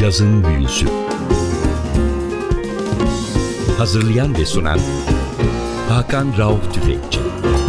Cazın Büyüsü. Hazırlayan ve sunan Hakan Rauf Tüfekçi.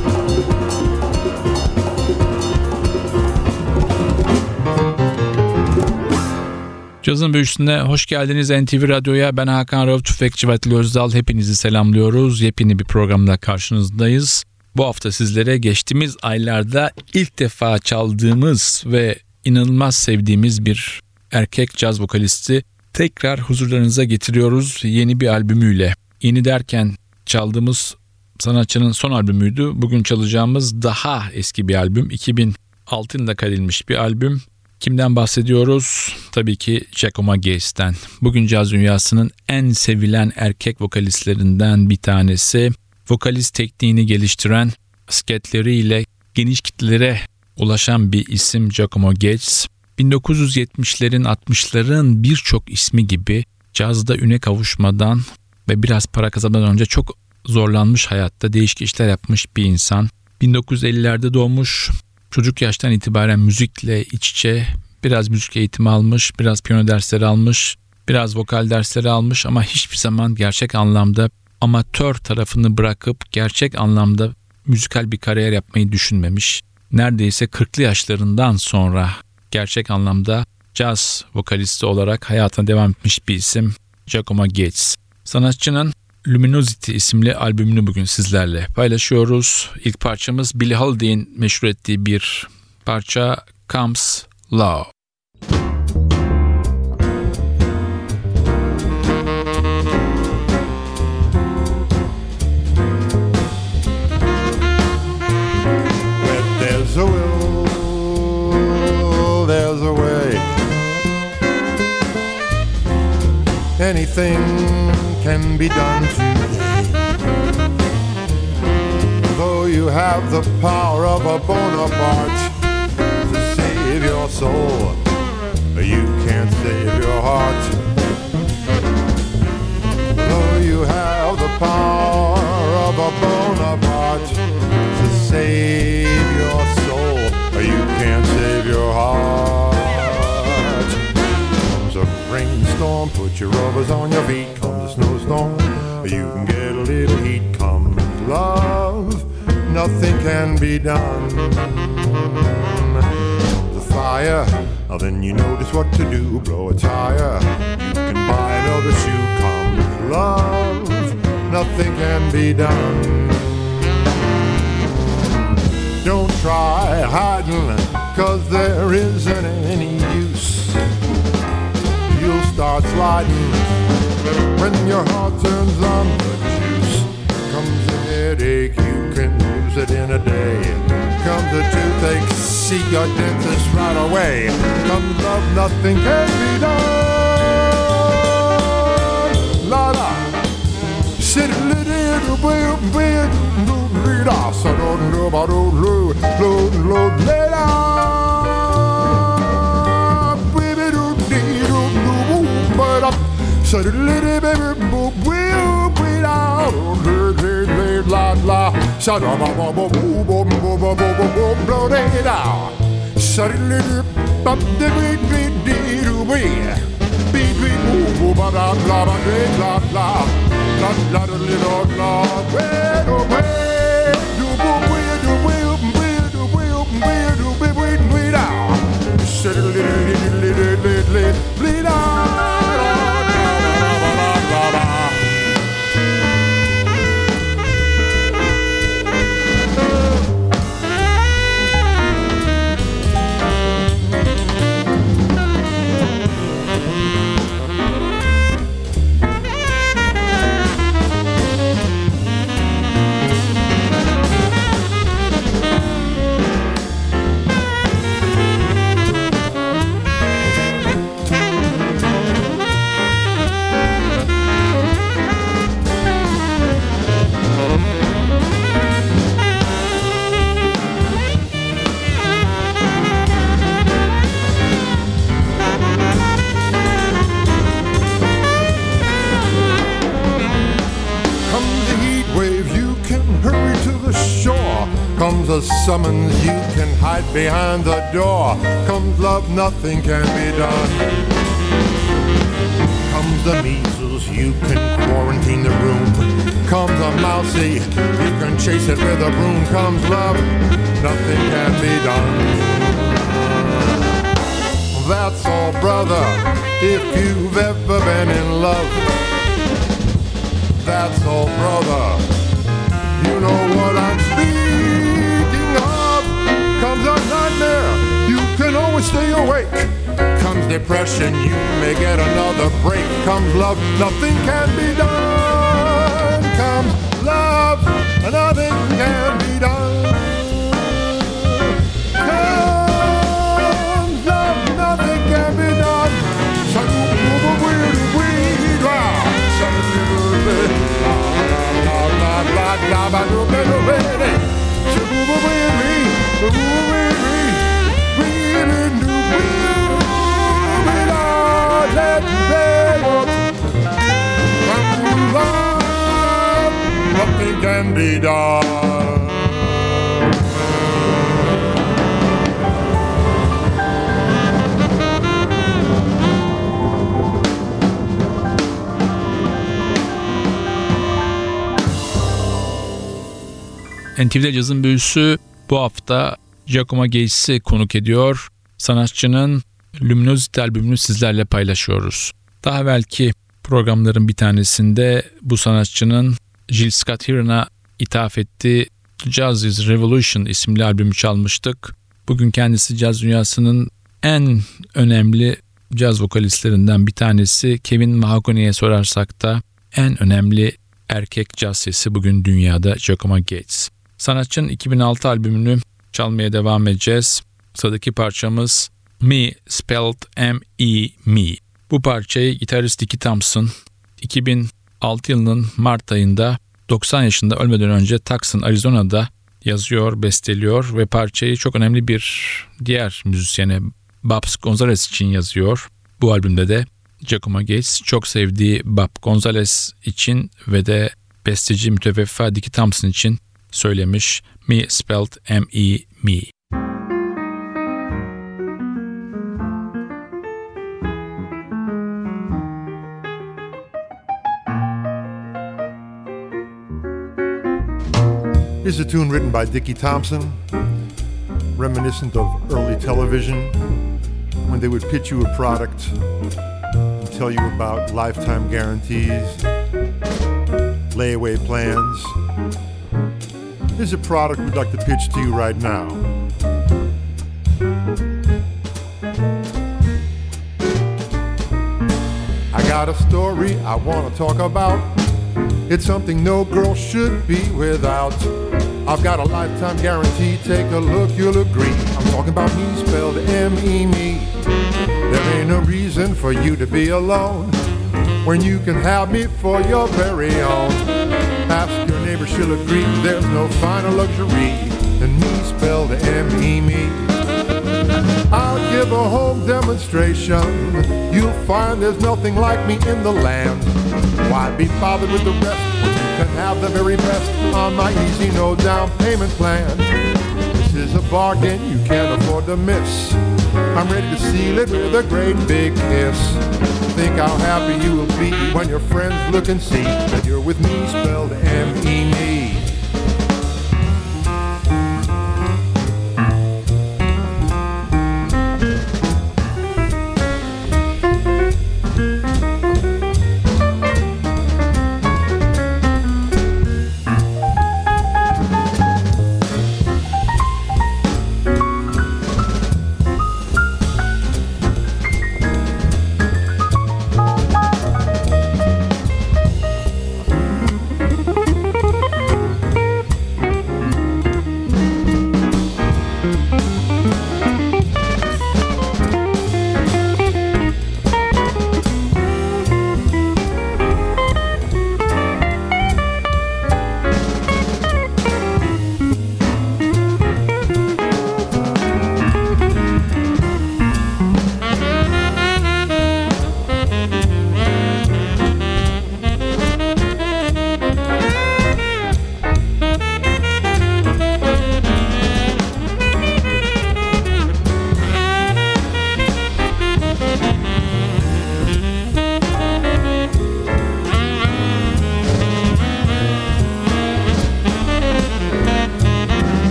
Cazın Büyüsü'ne hoş geldiniz NTV Radyo'ya. Ben Hakan Rauf Tüfekçi ve Atilla Özdal. Hepinizi selamlıyoruz. Yepyeni bir programla karşınızdayız. Bu hafta sizlere geçtiğimiz aylarda ilk defa çaldığımız ve inanılmaz sevdiğimiz bir erkek caz vokalisti tekrar huzurlarınıza getiriyoruz yeni bir albümüyle. Yeni derken çaldığımız sanatçının son albümüydü. Bugün çalacağımız daha eski bir albüm. 2006 yılında kaydedilmiş bir albüm. Kimden bahsediyoruz? Tabii ki Giacomo Gates'ten. Bugün caz dünyasının en sevilen erkek vokalistlerinden bir tanesi. Vokalist tekniğini geliştiren, sketleriyle geniş kitlelere ulaşan bir isim Giacomo Gates. 1970'lerin 60'ların birçok ismi gibi cazda üne kavuşmadan ve biraz para kazanmadan önce çok zorlanmış hayatta, değişik işler yapmış bir insan. 1950'lerde doğmuş, çocuk yaştan itibaren müzikle iç içe, biraz müzik eğitimi almış, biraz piyano dersleri almış, biraz vokal dersleri almış ama hiçbir zaman gerçek anlamda amatör tarafını bırakıp gerçek anlamda müzikal bir kariyer yapmayı düşünmemiş. Neredeyse 40'lı yaşlarından sonra gerçek anlamda caz vokalisti olarak hayatına devam etmiş bir isim Giacomo Gates. Sanatçının Luminosity isimli albümünü bugün sizlerle paylaşıyoruz. İlk parçamız Billie Holiday'in meşhur ettiği bir parça Comes Love. There's a will, there's a way. Anything can be done today. Though you have the power of a Bonaparte to save your soul, you can't save your heart. Though you have the power of a Bonaparte to save your soul, you can't save your heart. Comes a rainstorm, put your rubbers on your feet. Comes a snowstorm, you can get a little heat. Comes love, nothing can be done. The fire, then you notice what to do. Blow a tire, you can buy another shoe. Comes love, nothing can be done. Don't try hiding, 'cause there isn't any use. You'll start sliding when your heart turns on the juice. Comes a headache, you can lose it in a day. Comes a toothache, see your dentist right away. Comes love, nothing can be done. La la, sit a little bit. So don't do about load, let up, baby, do but up, so the little baby will be out, la la, so the blow it out, so the little bump the beat, ba la la la la little la, bleed out. Comes a summons, you can hide behind the door. Comes love, nothing can be done. Comes the measles, you can quarantine the room. Comes a mousey, you can chase it with a broom. Comes love, nothing can be done. That's all, brother, if you've ever been in love. That's all, brother, you know what I'm speaking of. Comes a nightmare, you can always stay awake. Comes depression, you may get another break. Comes love, nothing can be done. Comes love, nothing can be done. Comes love, nothing can be done. Nothing can be done. NTV'de Cazın Büyüsü bu hafta Giacomo Gates'i konuk ediyor. Sanatçının Luminosity albümünü sizlerle paylaşıyoruz. Daha evvelki programların bir tanesinde bu sanatçının Jill Scott Heron'a ithaf ettiği Jazz is Revolution isimli albümü çalmıştık. Bugün kendisi caz dünyasının en önemli caz vokalistlerinden bir tanesi. Kevin Mahogany'ye sorarsak da en önemli erkek caz sesi bugün dünyada Giacomo Gates. Sanatçının 2006 albümünü çalmaya devam edeceğiz. Sıradaki parçamız Me Spelled M-E Me. Bu parçayı gitarist Dickie Thompson 2006 yılının Mart ayında 90 yaşında ölmeden önce Tucson, Arizona'da yazıyor, besteliyor ve parçayı çok önemli bir diğer müzisyene Babs Gonzalez için yazıyor. Bu albümde de Giacomo Gates çok sevdiği Bob Gonzalez için ve de besteci müteveffa Dickie Thompson için söylemiş. Me Spelled M-E Me. Here's a tune written by Dickie Thompson, reminiscent of early television, when they would pitch you a product and tell you about lifetime guarantees, layaway plans. Here's a product we'd like to pitch to you right now. I got a story I want to talk about. It's something no girl should be without. I've got a lifetime guarantee, take a look, you'll agree. I'm talking about me, spelled M-E me. There ain't no reason for you to be alone when you can have me for your very own. Ask your neighbor, she'll agree, there's no finer luxury than me, spelled M-E me. I'll give a home demonstration. You'll find there's nothing like me in the land. Why be bothered with the rest when you can have the very best on my easy no down payment plan? This is a bargain you can't afford to miss. I'm ready to seal it with a great big kiss. Think how happy you will be when your friends look and see that you're with me, spelled M-E me.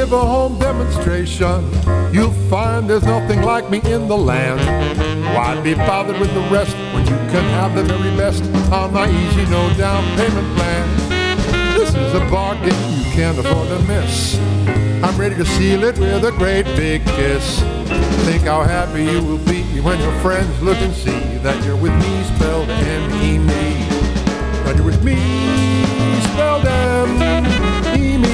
give a home demonstration, you'll find there's nothing like me in the land. Why be bothered with the rest when you can have the very best on my easy no down payment plan? This is a bargain you can't afford to miss. I'm ready to seal it with a great big kiss. Think how happy you will be when your friends look and see that you're with me, spelled M-E-Me. That you're with me, spelled M-E-Me.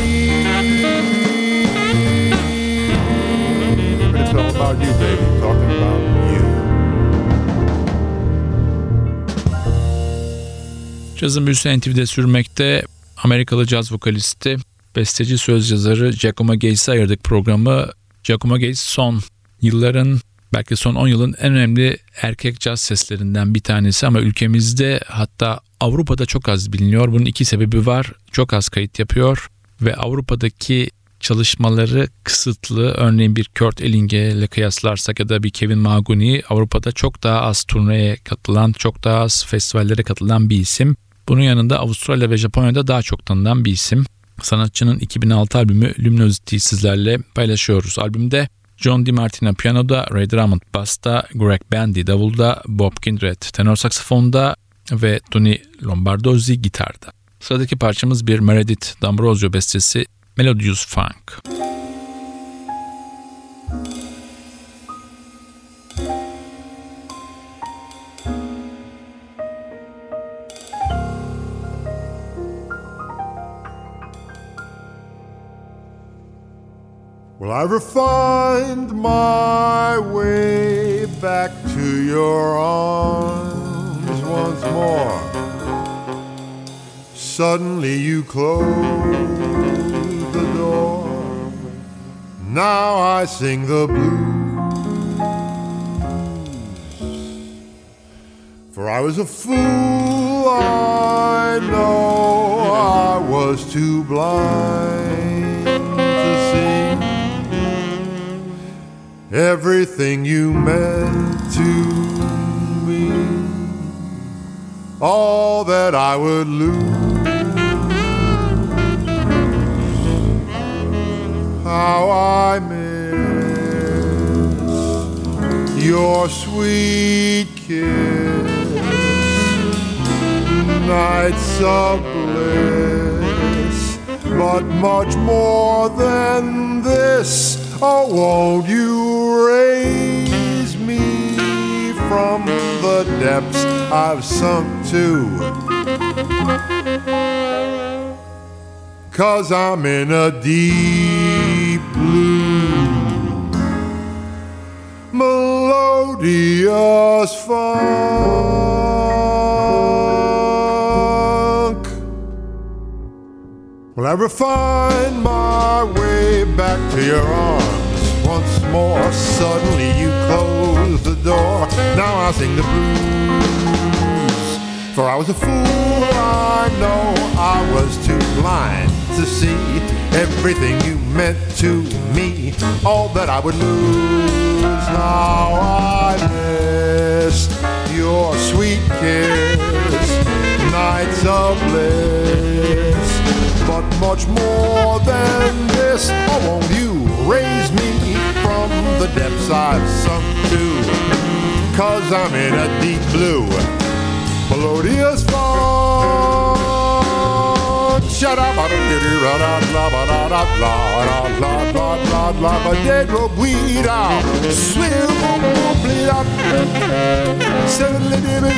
But it's all about you, baby. It's talking about you. Cazın büyüsü NTV'de sürmekte. Amerikalı caz vokalisti, besteci, söz yazarı Giacomo Gates'e ayırdık programı. Giacomo Gates son yılların, belki son 10 yılın en önemli erkek caz seslerinden bir tanesi ama ülkemizde, hatta Avrupa'da çok az biliniyor. Bunun iki sebebi var. Çok az kayıt yapıyor ve Avrupa'daki çalışmaları kısıtlı. Örneğin bir Kurt Ellinge ile kıyaslarsak ya da bir Kevin Mahogany, Avrupa'da çok daha az turneye katılan, çok daha az festivallere katılan bir isim. Bunun yanında Avustralya ve Japonya'da daha çok tanınan bir isim. Sanatçının 2006 albümü Luminosity'yi sizlerle paylaşıyoruz. Albümde John DiMartino piyanoda, Ray Drummond basta, Greg Bandy davulda, Bob Kindred tenor saksafonda ve Tony Lombardozzi gitarda. Sıradaki parçamız bir Meredith D'Ambrosio bestesi, Melodious Funk. Will I ever find my way back to your arms once more? Suddenly you close the door. Now I sing the blues. For I was a fool, I know I was too blind to see everything you meant to me, all that I would lose. How I miss your sweet kiss, nights of bliss, but much more than this. Oh, won't you raise me from the depths I've sunk to? 'Cause I'm in a deep blue, melodious funk. Will I ever find my way back to your arms once more? Suddenly you close the door. Now I sing the blues. For I was a fool, I know I was too blind to see everything you meant to me, all that I would lose. Now I miss your sweet kiss, nights of bliss, but much more than this. Oh, won't you raise me from the depths I've sunk to? 'Cause I'm in a deep blue, melodious funk. Shut up, I don't get it, la la la la la la la la la la, but they go bleed out, swim, bleed out. Seven little bit,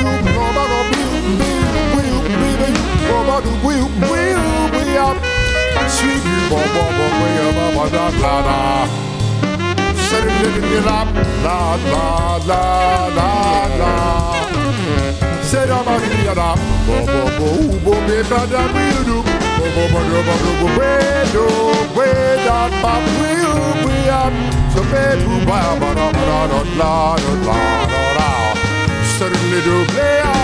we up, sweet, way up, la la la. Seven little la la la la la la. Set up a da bo bo bo bo be ba da we do bo bo bo do we do we da ba we up so be bu ba ba da da da la da la da certainly do play on.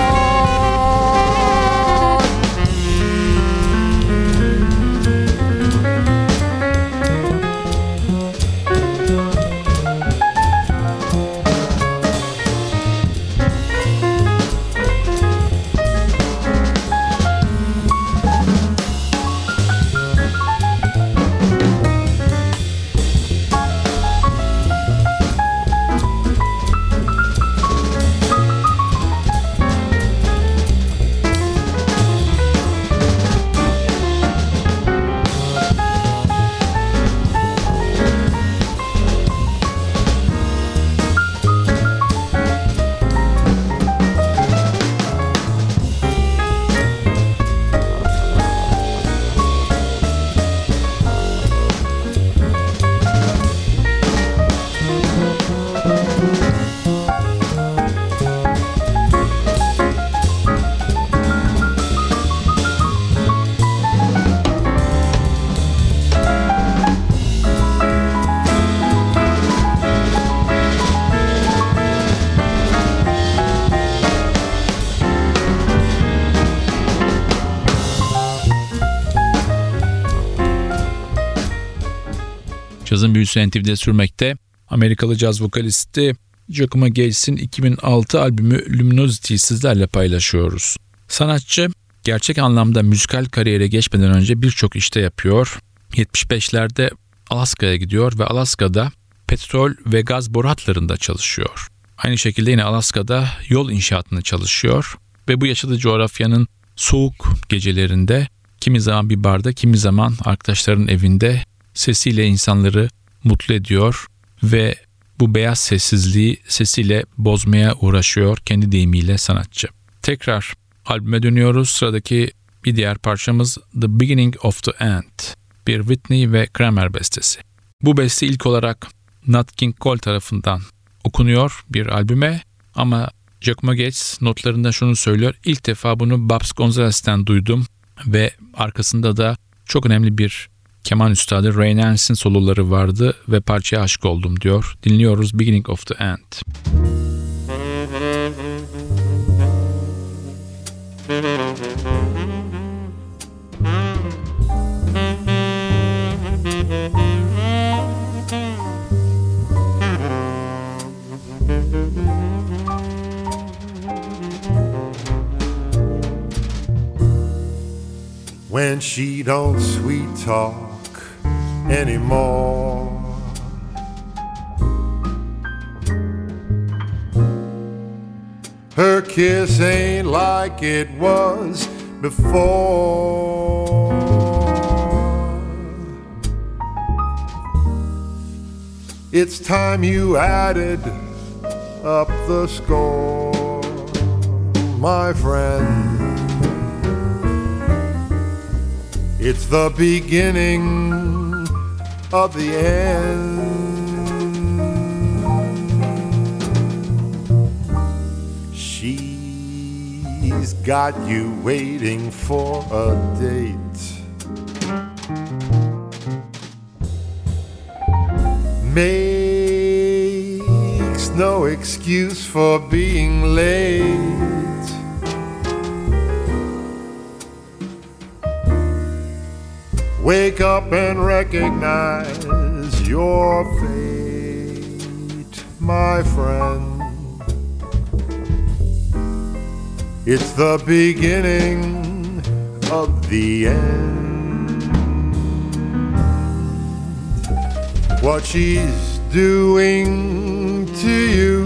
Cazın büyüsü NTV'de sürmekte. Amerikalı caz vokalisti Giacomo Gates'in 2006 albümü Luminosity'yi sizlerle paylaşıyoruz. Sanatçı gerçek anlamda müzikal kariyere geçmeden önce birçok işte yapıyor. 75'lerde Alaska'ya gidiyor ve Alaska'da petrol ve gaz boru hatlarında çalışıyor. Aynı şekilde yine Alaska'da yol inşaatını çalışıyor ve bu yaşadığı coğrafyanın soğuk gecelerinde kimi zaman bir barda, kimi zaman arkadaşlarının evinde sesiyle insanları mutlu ediyor ve bu beyaz sessizliği sesiyle bozmaya uğraşıyor kendi deyimiyle sanatçı. Tekrar albüme dönüyoruz. Sıradaki bir diğer parçamız The Beginning of the End. Bir Whitney ve Kramer bestesi. Bu beste ilk olarak Nat King Cole tarafından okunuyor bir albüme ama Giacomo Gates notlarında şunu söylüyor. İlk defa bunu Babs Gonzalez'ten duydum ve arkasında da çok önemli bir keman üstadı Ray Nance'in soloları vardı ve parçaya aşık oldum diyor. Dinliyoruz Beginning of the End. When she don't sweet talk anymore, her kiss ain't like it was before. It's time you added up the score, my friend. It's the beginning of the end. She's got you waiting for a date. Makes no excuse for being late. Wake up and recognize your fate, my friend. It's the beginning of the end. What she's doing to you,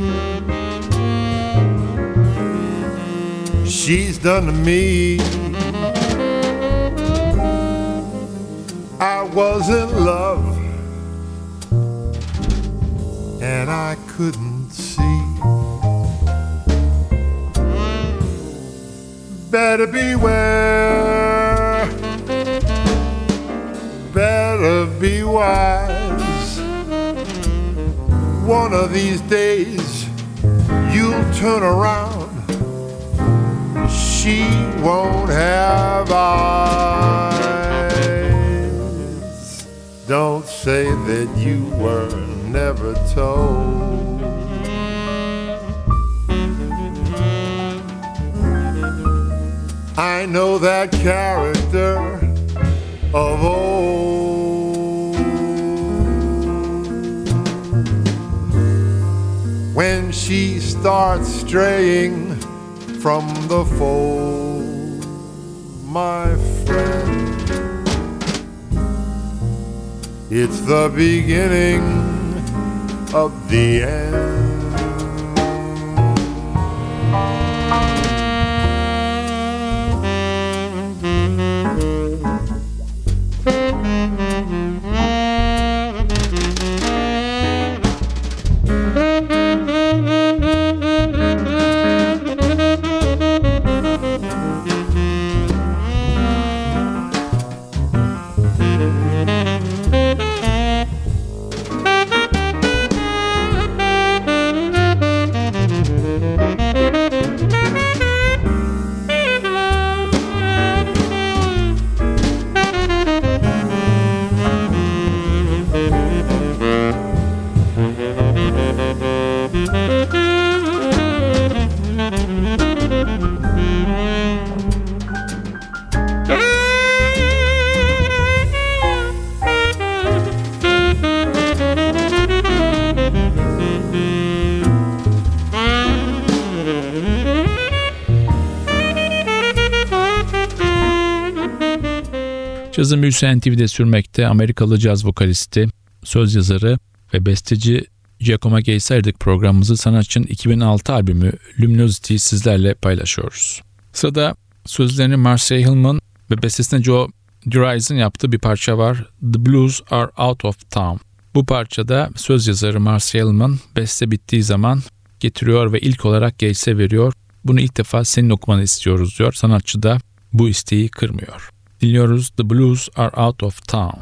she's done to me. I was in love and I couldn't see. Better beware, better be wise. One of these days you'll turn around, she won't have eyes. Don't say that you were never told. I know that character of old. When she starts straying from the fold, my friend, it's the beginning of the end. Cazın büyüsü NTV'de sürmekte. Amerikalı caz vokalisti, söz yazarı ve besteci Giacomo Gates ayırdık programımızı. Sanatçının 2006 albümü Luminosity'yi sizlerle paylaşıyoruz. Sırada sözlerini Marcia Hillman ve bestesini Joe DeRise'ın yaptığı bir parça var. The Blues Are Out of Town. Bu parçada söz yazarı Marcia Hillman beste bittiği zaman getiriyor ve ilk olarak Gates'e veriyor. Bunu ilk defa senin okumanı istiyoruz diyor. Sanatçı da bu isteği kırmıyor. Dinliyoruz The Blues Are Out of Town.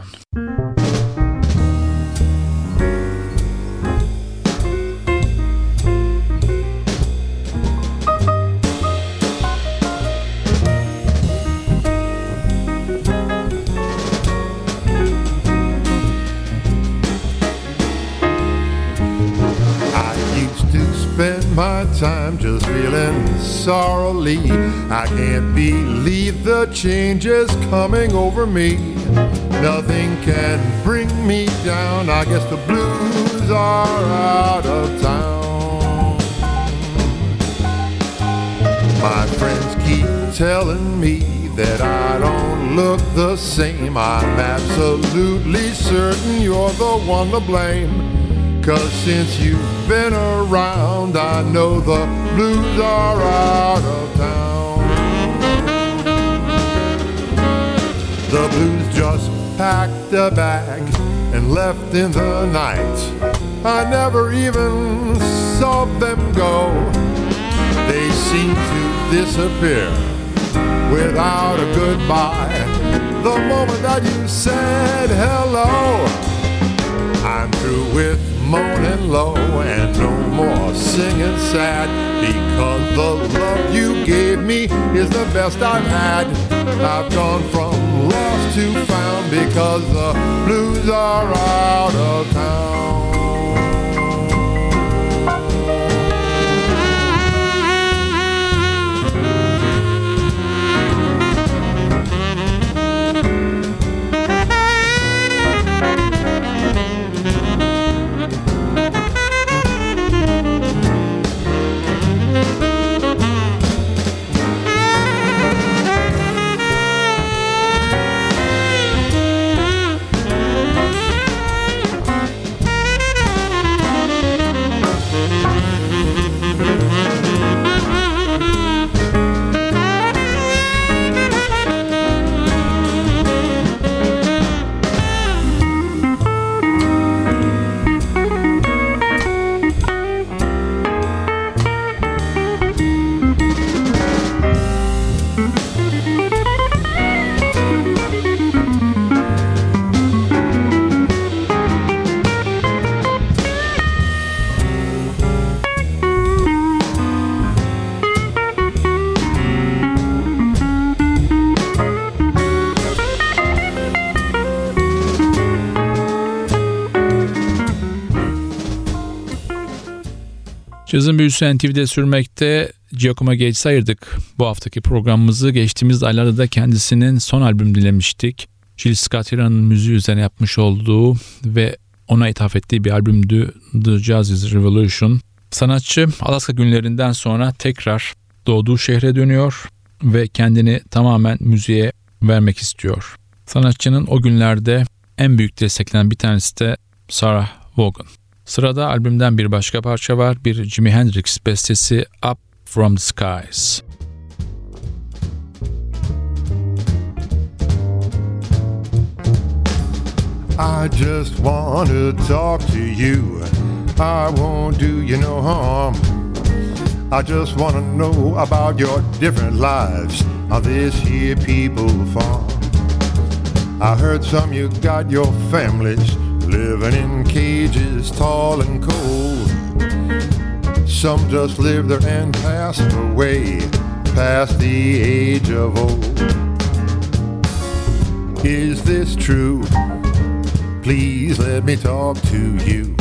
Spend my time just feeling sorrowly. I can't believe the changes coming over me. Nothing can bring me down. I guess the blues are out of town. My friends keep telling me that I don't look the same. I'm absolutely certain you're the one to blame. 'Cause since you've been around, I know the blues are out of town. The blues just packed a bag and left in the night. I never even saw them go. They seem to disappear without a goodbye. The moment that you said hello, I'm through with moaning low and no more singing sad, because the love you gave me is the best I've had. I've gone from lost to found because the blues are out of town. Cazın büyüsü NTV'de sürmekte. Giacomo Gates'e ayırdık bu haftaki programımızı. Geçtiğimiz aylarda da kendisinin son albüm dinlemiştik. Jill Scott Heron'ın müziği üzerine yapmış olduğu ve ona ithaf ettiği bir albümdü The Jazz is Revolution. Sanatçı Alaska günlerinden sonra tekrar doğduğu şehre dönüyor ve kendini tamamen müziğe vermek istiyor. Sanatçının o günlerde en büyük desteklenen bir tanesi de Sarah Vaughan. Sırada albümden bir başka parça var. Bir Jimi Hendrix bestesi Up From The Skies. I just want to talk to you. I won't do you no harm. I just want to know about your different lives on this here people farm. I heard some you got your families living in cages tall and cold. Some just live there and pass away past the age of old. Is this true? Please let me talk to you.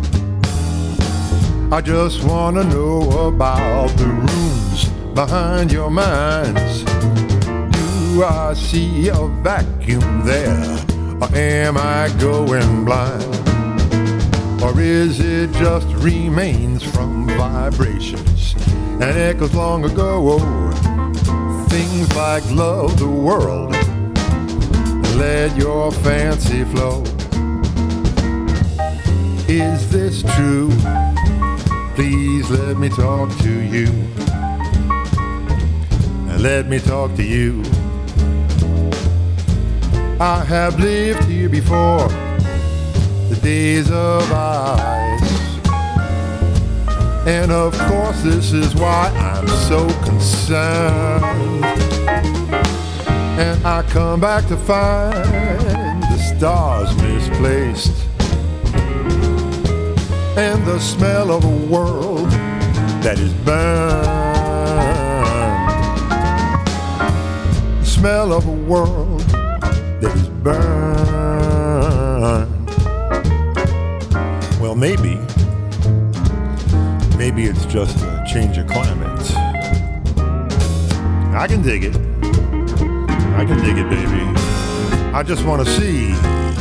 I just want to know about the rooms behind your minds. Do I see a vacuum there? Or am I going blind? Or is it just remains from vibrations and echoes long ago? Things like love the world, let your fancy flow. Is this true? Please let me talk to you. Let me talk to you. I have lived here before, the days of ice. And of course this is why I'm so concerned. And I come back to find the stars misplaced, and the smell of a world that is burned. The smell of a world that is burned. Well, maybe it's just a change of climate. I can dig it. I can dig it, baby. I just want to see.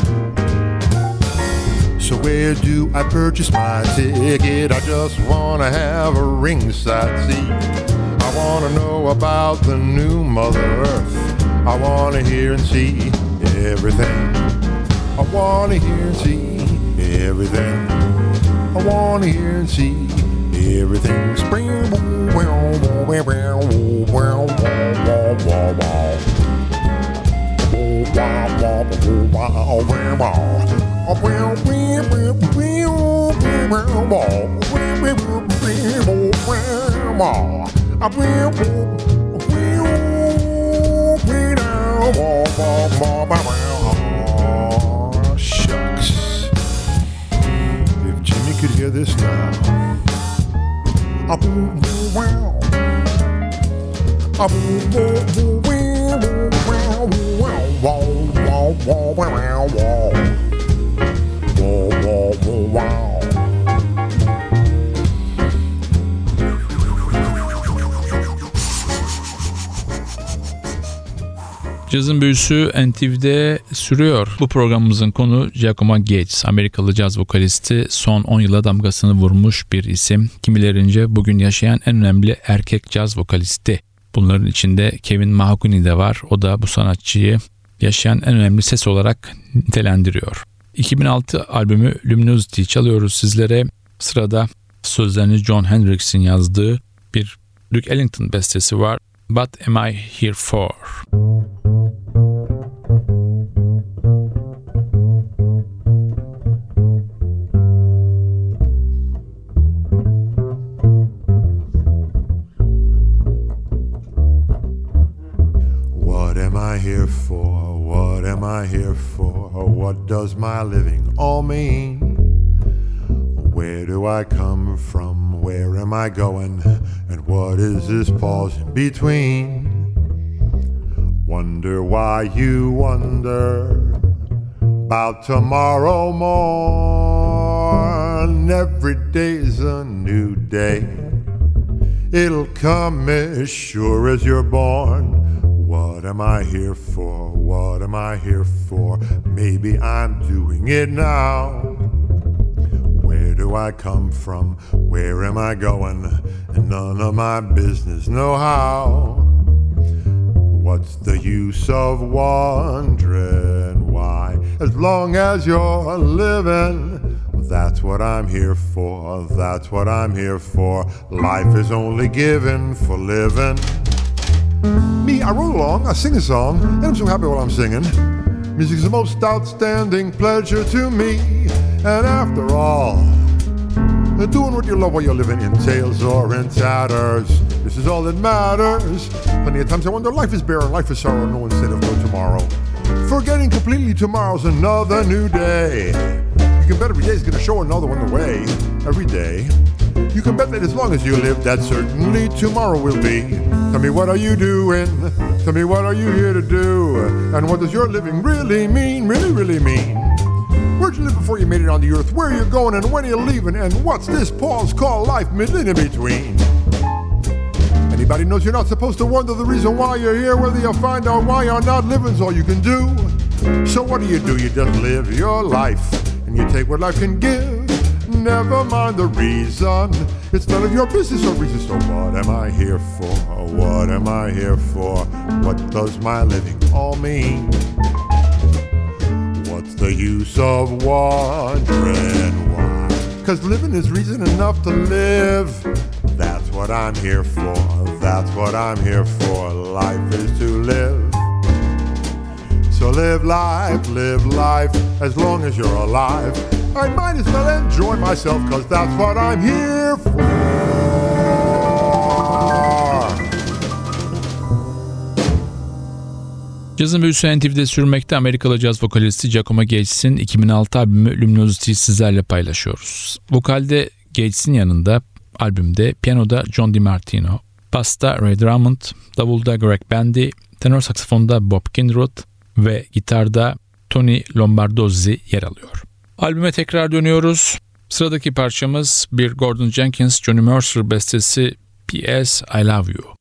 So where do I purchase my ticket? I just want to have a ringside seat. I want to know about the new Mother Earth. I want to hear and see everything. I want to hear and see everything. I want to hear and see everything. Spring. Shucks. If Jimmy could hear this now. Cazın büyüsü NTV'de sürüyor. Bu programımızın konu Giacomo Gates, Amerikalı caz vokalisti, son 10 yıla damgasını vurmuş bir isim. Kimilerince bugün yaşayan en önemli erkek caz vokalisti. Bunların içinde Kevin Mahogany de var. O da bu sanatçıyı yaşayan en önemli ses olarak nitelendiriyor. 2006 albümü Luminosity çalıyoruz sizlere. Sırada sözlerini John Hendrix'in yazdığı bir Duke Ellington bestesi var. What Am I Here For? What am I here for? What am I here for? What does my living all mean? Where do I come from? Where am I going? And what is this pause in between? Wonder why you wonder about tomorrow morn. Every day's a new day. It'll come as sure as you're born. What am I here for? What am I here for? Maybe I'm doing it now. Where do I come from? Where am I going? And none of my business know how. What's the use of wondering why? As long as you're living, that's what I'm here for. That's what I'm here for. Life is only given for living. Me, I wrote along, I sing a song, and I'm so happy while I'm singing. Music's the most outstanding pleasure to me. And after all, doing what you love while you're living in tails or in tatters, this is all that matters. Plenty of times I wonder, life is barren, life is sorrow, no instead of no tomorrow. Forgetting completely tomorrow's another new day. You can bet every day's gonna show another one the way. Every day. You can bet that as long as you live, that certainly tomorrow will be. Tell me, what are you doing? Tell me, what are you here to do? And what does your living really mean? Really, really mean? Where'd you live before you made it on the earth? Where are you going and when are you leaving? And what's this pause called life middling in between? Anybody knows you're not supposed to wonder the reason why you're here. Whether you find out why you're not living's all you can do. So what do? You just live your life, and you take what life can give. Never mind the reason, it's none of your business or reason. So what am I here for? What am I here for? What does my living all mean? the use of wondering why. 'Cause living is reason enough to live. That's what I'm here for, that's what I'm here for. Life is to live. So live life, as long as you're alive. I might as well enjoy myself, 'cause that's what I'm here for. Cazın büyüsü NTV'de sürmekte. Amerikalı caz vokalisti Giacomo Gates'in 2006 albümü Luminosity'yi sizlerle paylaşıyoruz. Vokalde Gates'in yanında albümde piyanoda John DiMartino, basta Ray Drummond, davulda Greg Bandy, tenor saksafonda Bob Kindred ve gitarda Tony Lombardozzi yer alıyor. Albüme tekrar dönüyoruz. Sıradaki parçamız bir Gordon Jenkins, Johnny Mercer bestesi P.S. I Love You.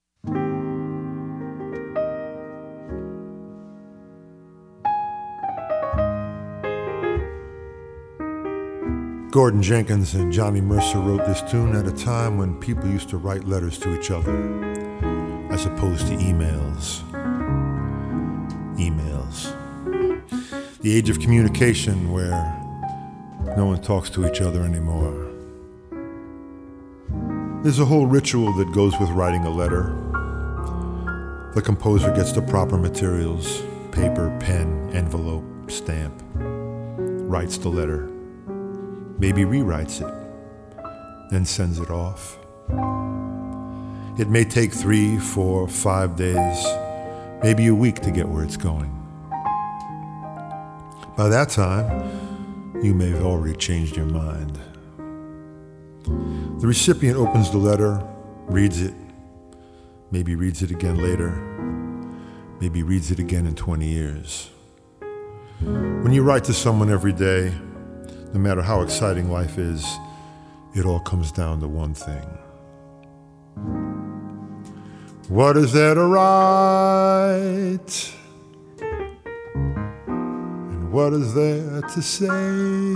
Gordon Jenkins and Johnny Mercer wrote this tune at a time when people used to write letters to each other as opposed to emails. The age of communication where no one talks to each other anymore. There's a whole ritual that goes with writing a letter. The composer gets the proper materials, paper, pen, envelope, stamp, writes the letter, maybe rewrites it, then sends it off. It may take 3, 4, 5 days, maybe a week to get where it's going. By that time, you may have already changed your mind. The recipient opens the letter, reads it, maybe reads it again later, maybe reads it again in 20 years. When you write to someone every day, no matter how exciting life is, it all comes down to one thing. What is there to write? And what is there to say?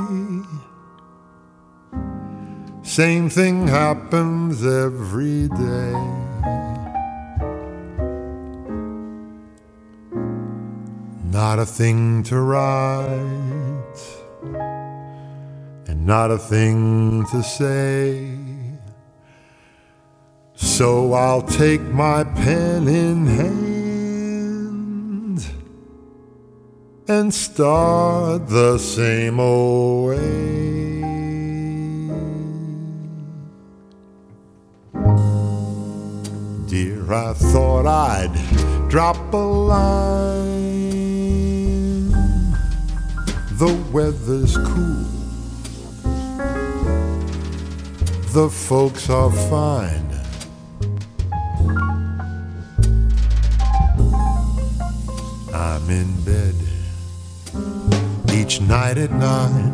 Same thing happens every day. Not a thing to write, and not a thing to say. So I'll take my pen in hand and start the same old way. Dear, I thought I'd drop a line. The weather's cool, the folks are fine. I'm in bed each night at 9.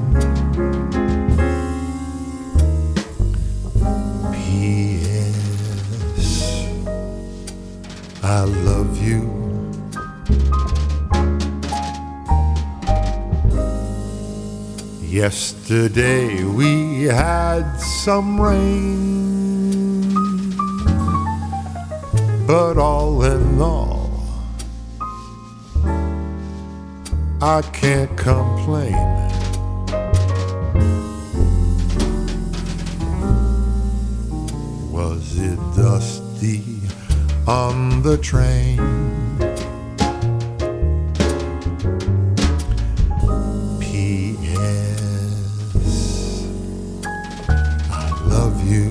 P.S. I love you. Yesterday we had some rain, but all in all, I can't complain. Was it dusty on the train? P.S. I love you.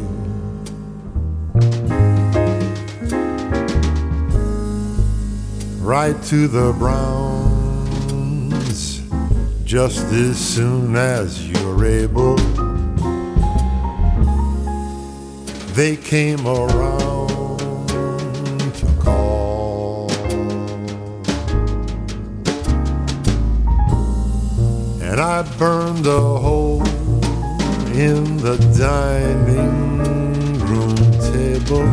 Right to the Browns, just as soon as you're able. They came around to call, and I burned a hole in the dining room table.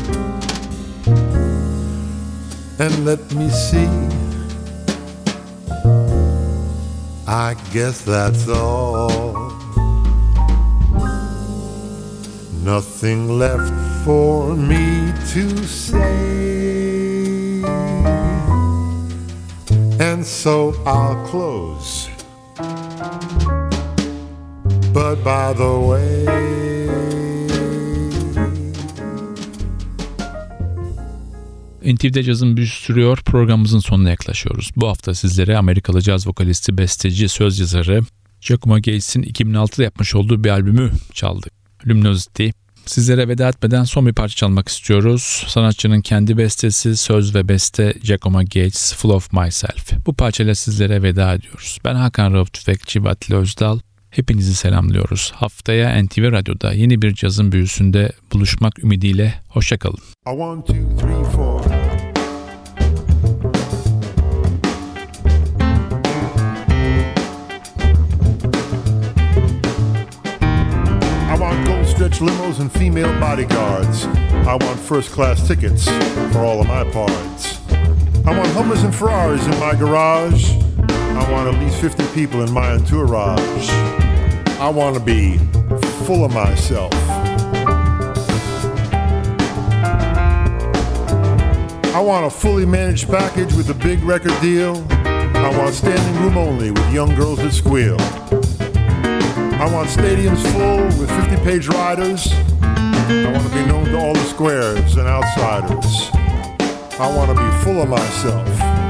And let me see, I guess that's all. Nothing left for me to say, and so I'll close But by the way, NTV'de cazın büyüsü sürüyor. Programımızın sonuna yaklaşıyoruz. Bu hafta sizlere Amerikalı caz vokalisti, besteci, söz yazarı Giacomo Gates'in 2006'da yapmış olduğu bir albümü çaldık. Luminosity. Sizlere veda etmeden son bir parça çalmak istiyoruz. Sanatçının kendi bestesi, söz ve beste Giacomo Gates, Full of Myself. Bu parçayla sizlere veda ediyoruz. Ben Hakan Rauf Tüfekçi ve Atilla Özdal. Hepinizi selamlıyoruz. Haftaya NTV Radyo'da yeni bir cazın büyüsünde buluşmak ümidiyle. Hoşça kalın. 1, 2, 3, 4. Stretch limos and female bodyguards. I want first class tickets for all of my parts. I want Hummers and Ferraris in my garage. I want at least 50 people in my entourage. I want to be full of myself. I want a fully managed package with a big record deal. I want standing room only with young girls that squeal. I want stadiums full with 50-page riders. I want to be known to all the squares and outsiders. I want to be full of myself.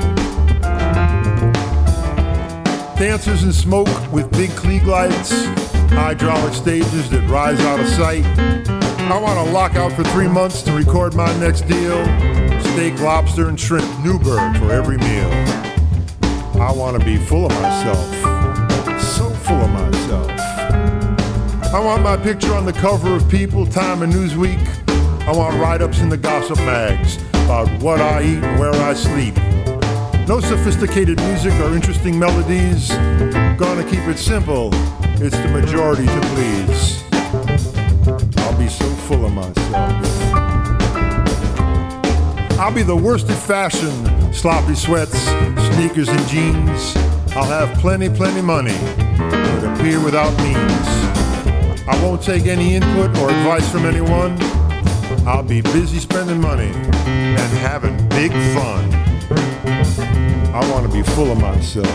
Dancers in smoke with big Klieg lights. Hydraulic stages that rise out of sight. I want to lock out for 3 months to record my next deal. Steak, lobster, and shrimp, Newburgh for every meal. I want to be full of myself. So full of myself. I want my picture on the cover of People, Time, and Newsweek. I want write-ups in the gossip mags about what I eat and where I sleep. No sophisticated music or interesting melodies. Gonna keep it simple. It's the majority to please. I'll be so full of myself. I'll be the worst at fashion. Sloppy sweats, sneakers and jeans. I'll have plenty money, but appear without means. I won't take any input or advice from anyone. I'll be busy spending money and having big fun. I want to be full of myself.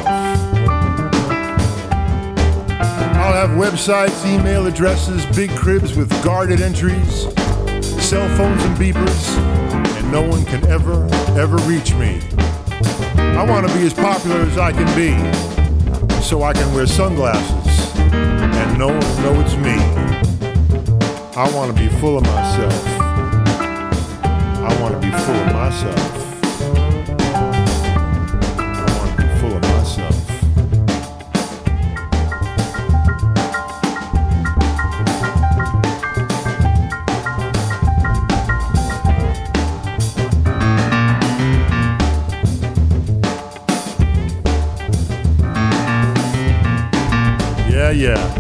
I'll have websites, email addresses, big cribs with guarded entries, cell phones and beepers, and no one can ever reach me. I want to be as popular as I can be, so I can wear sunglasses and no one will know it's me. I want to be full of myself. I want to be full of myself. I want to be full of myself. Yeah.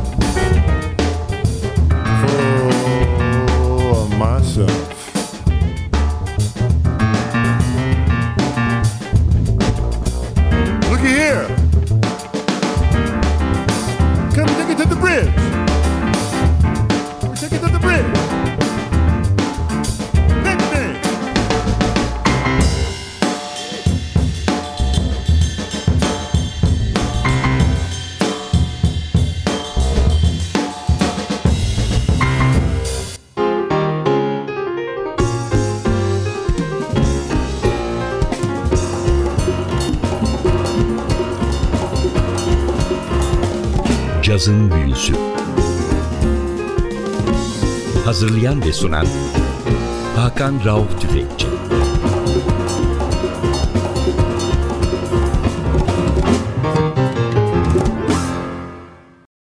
Full of myself. Looky here. Come take it to the bridge. Take it to the bridge. Next day. Cazın büyüsü. Hazırlayan ve sunan Hakan Rauf Tüfekçi.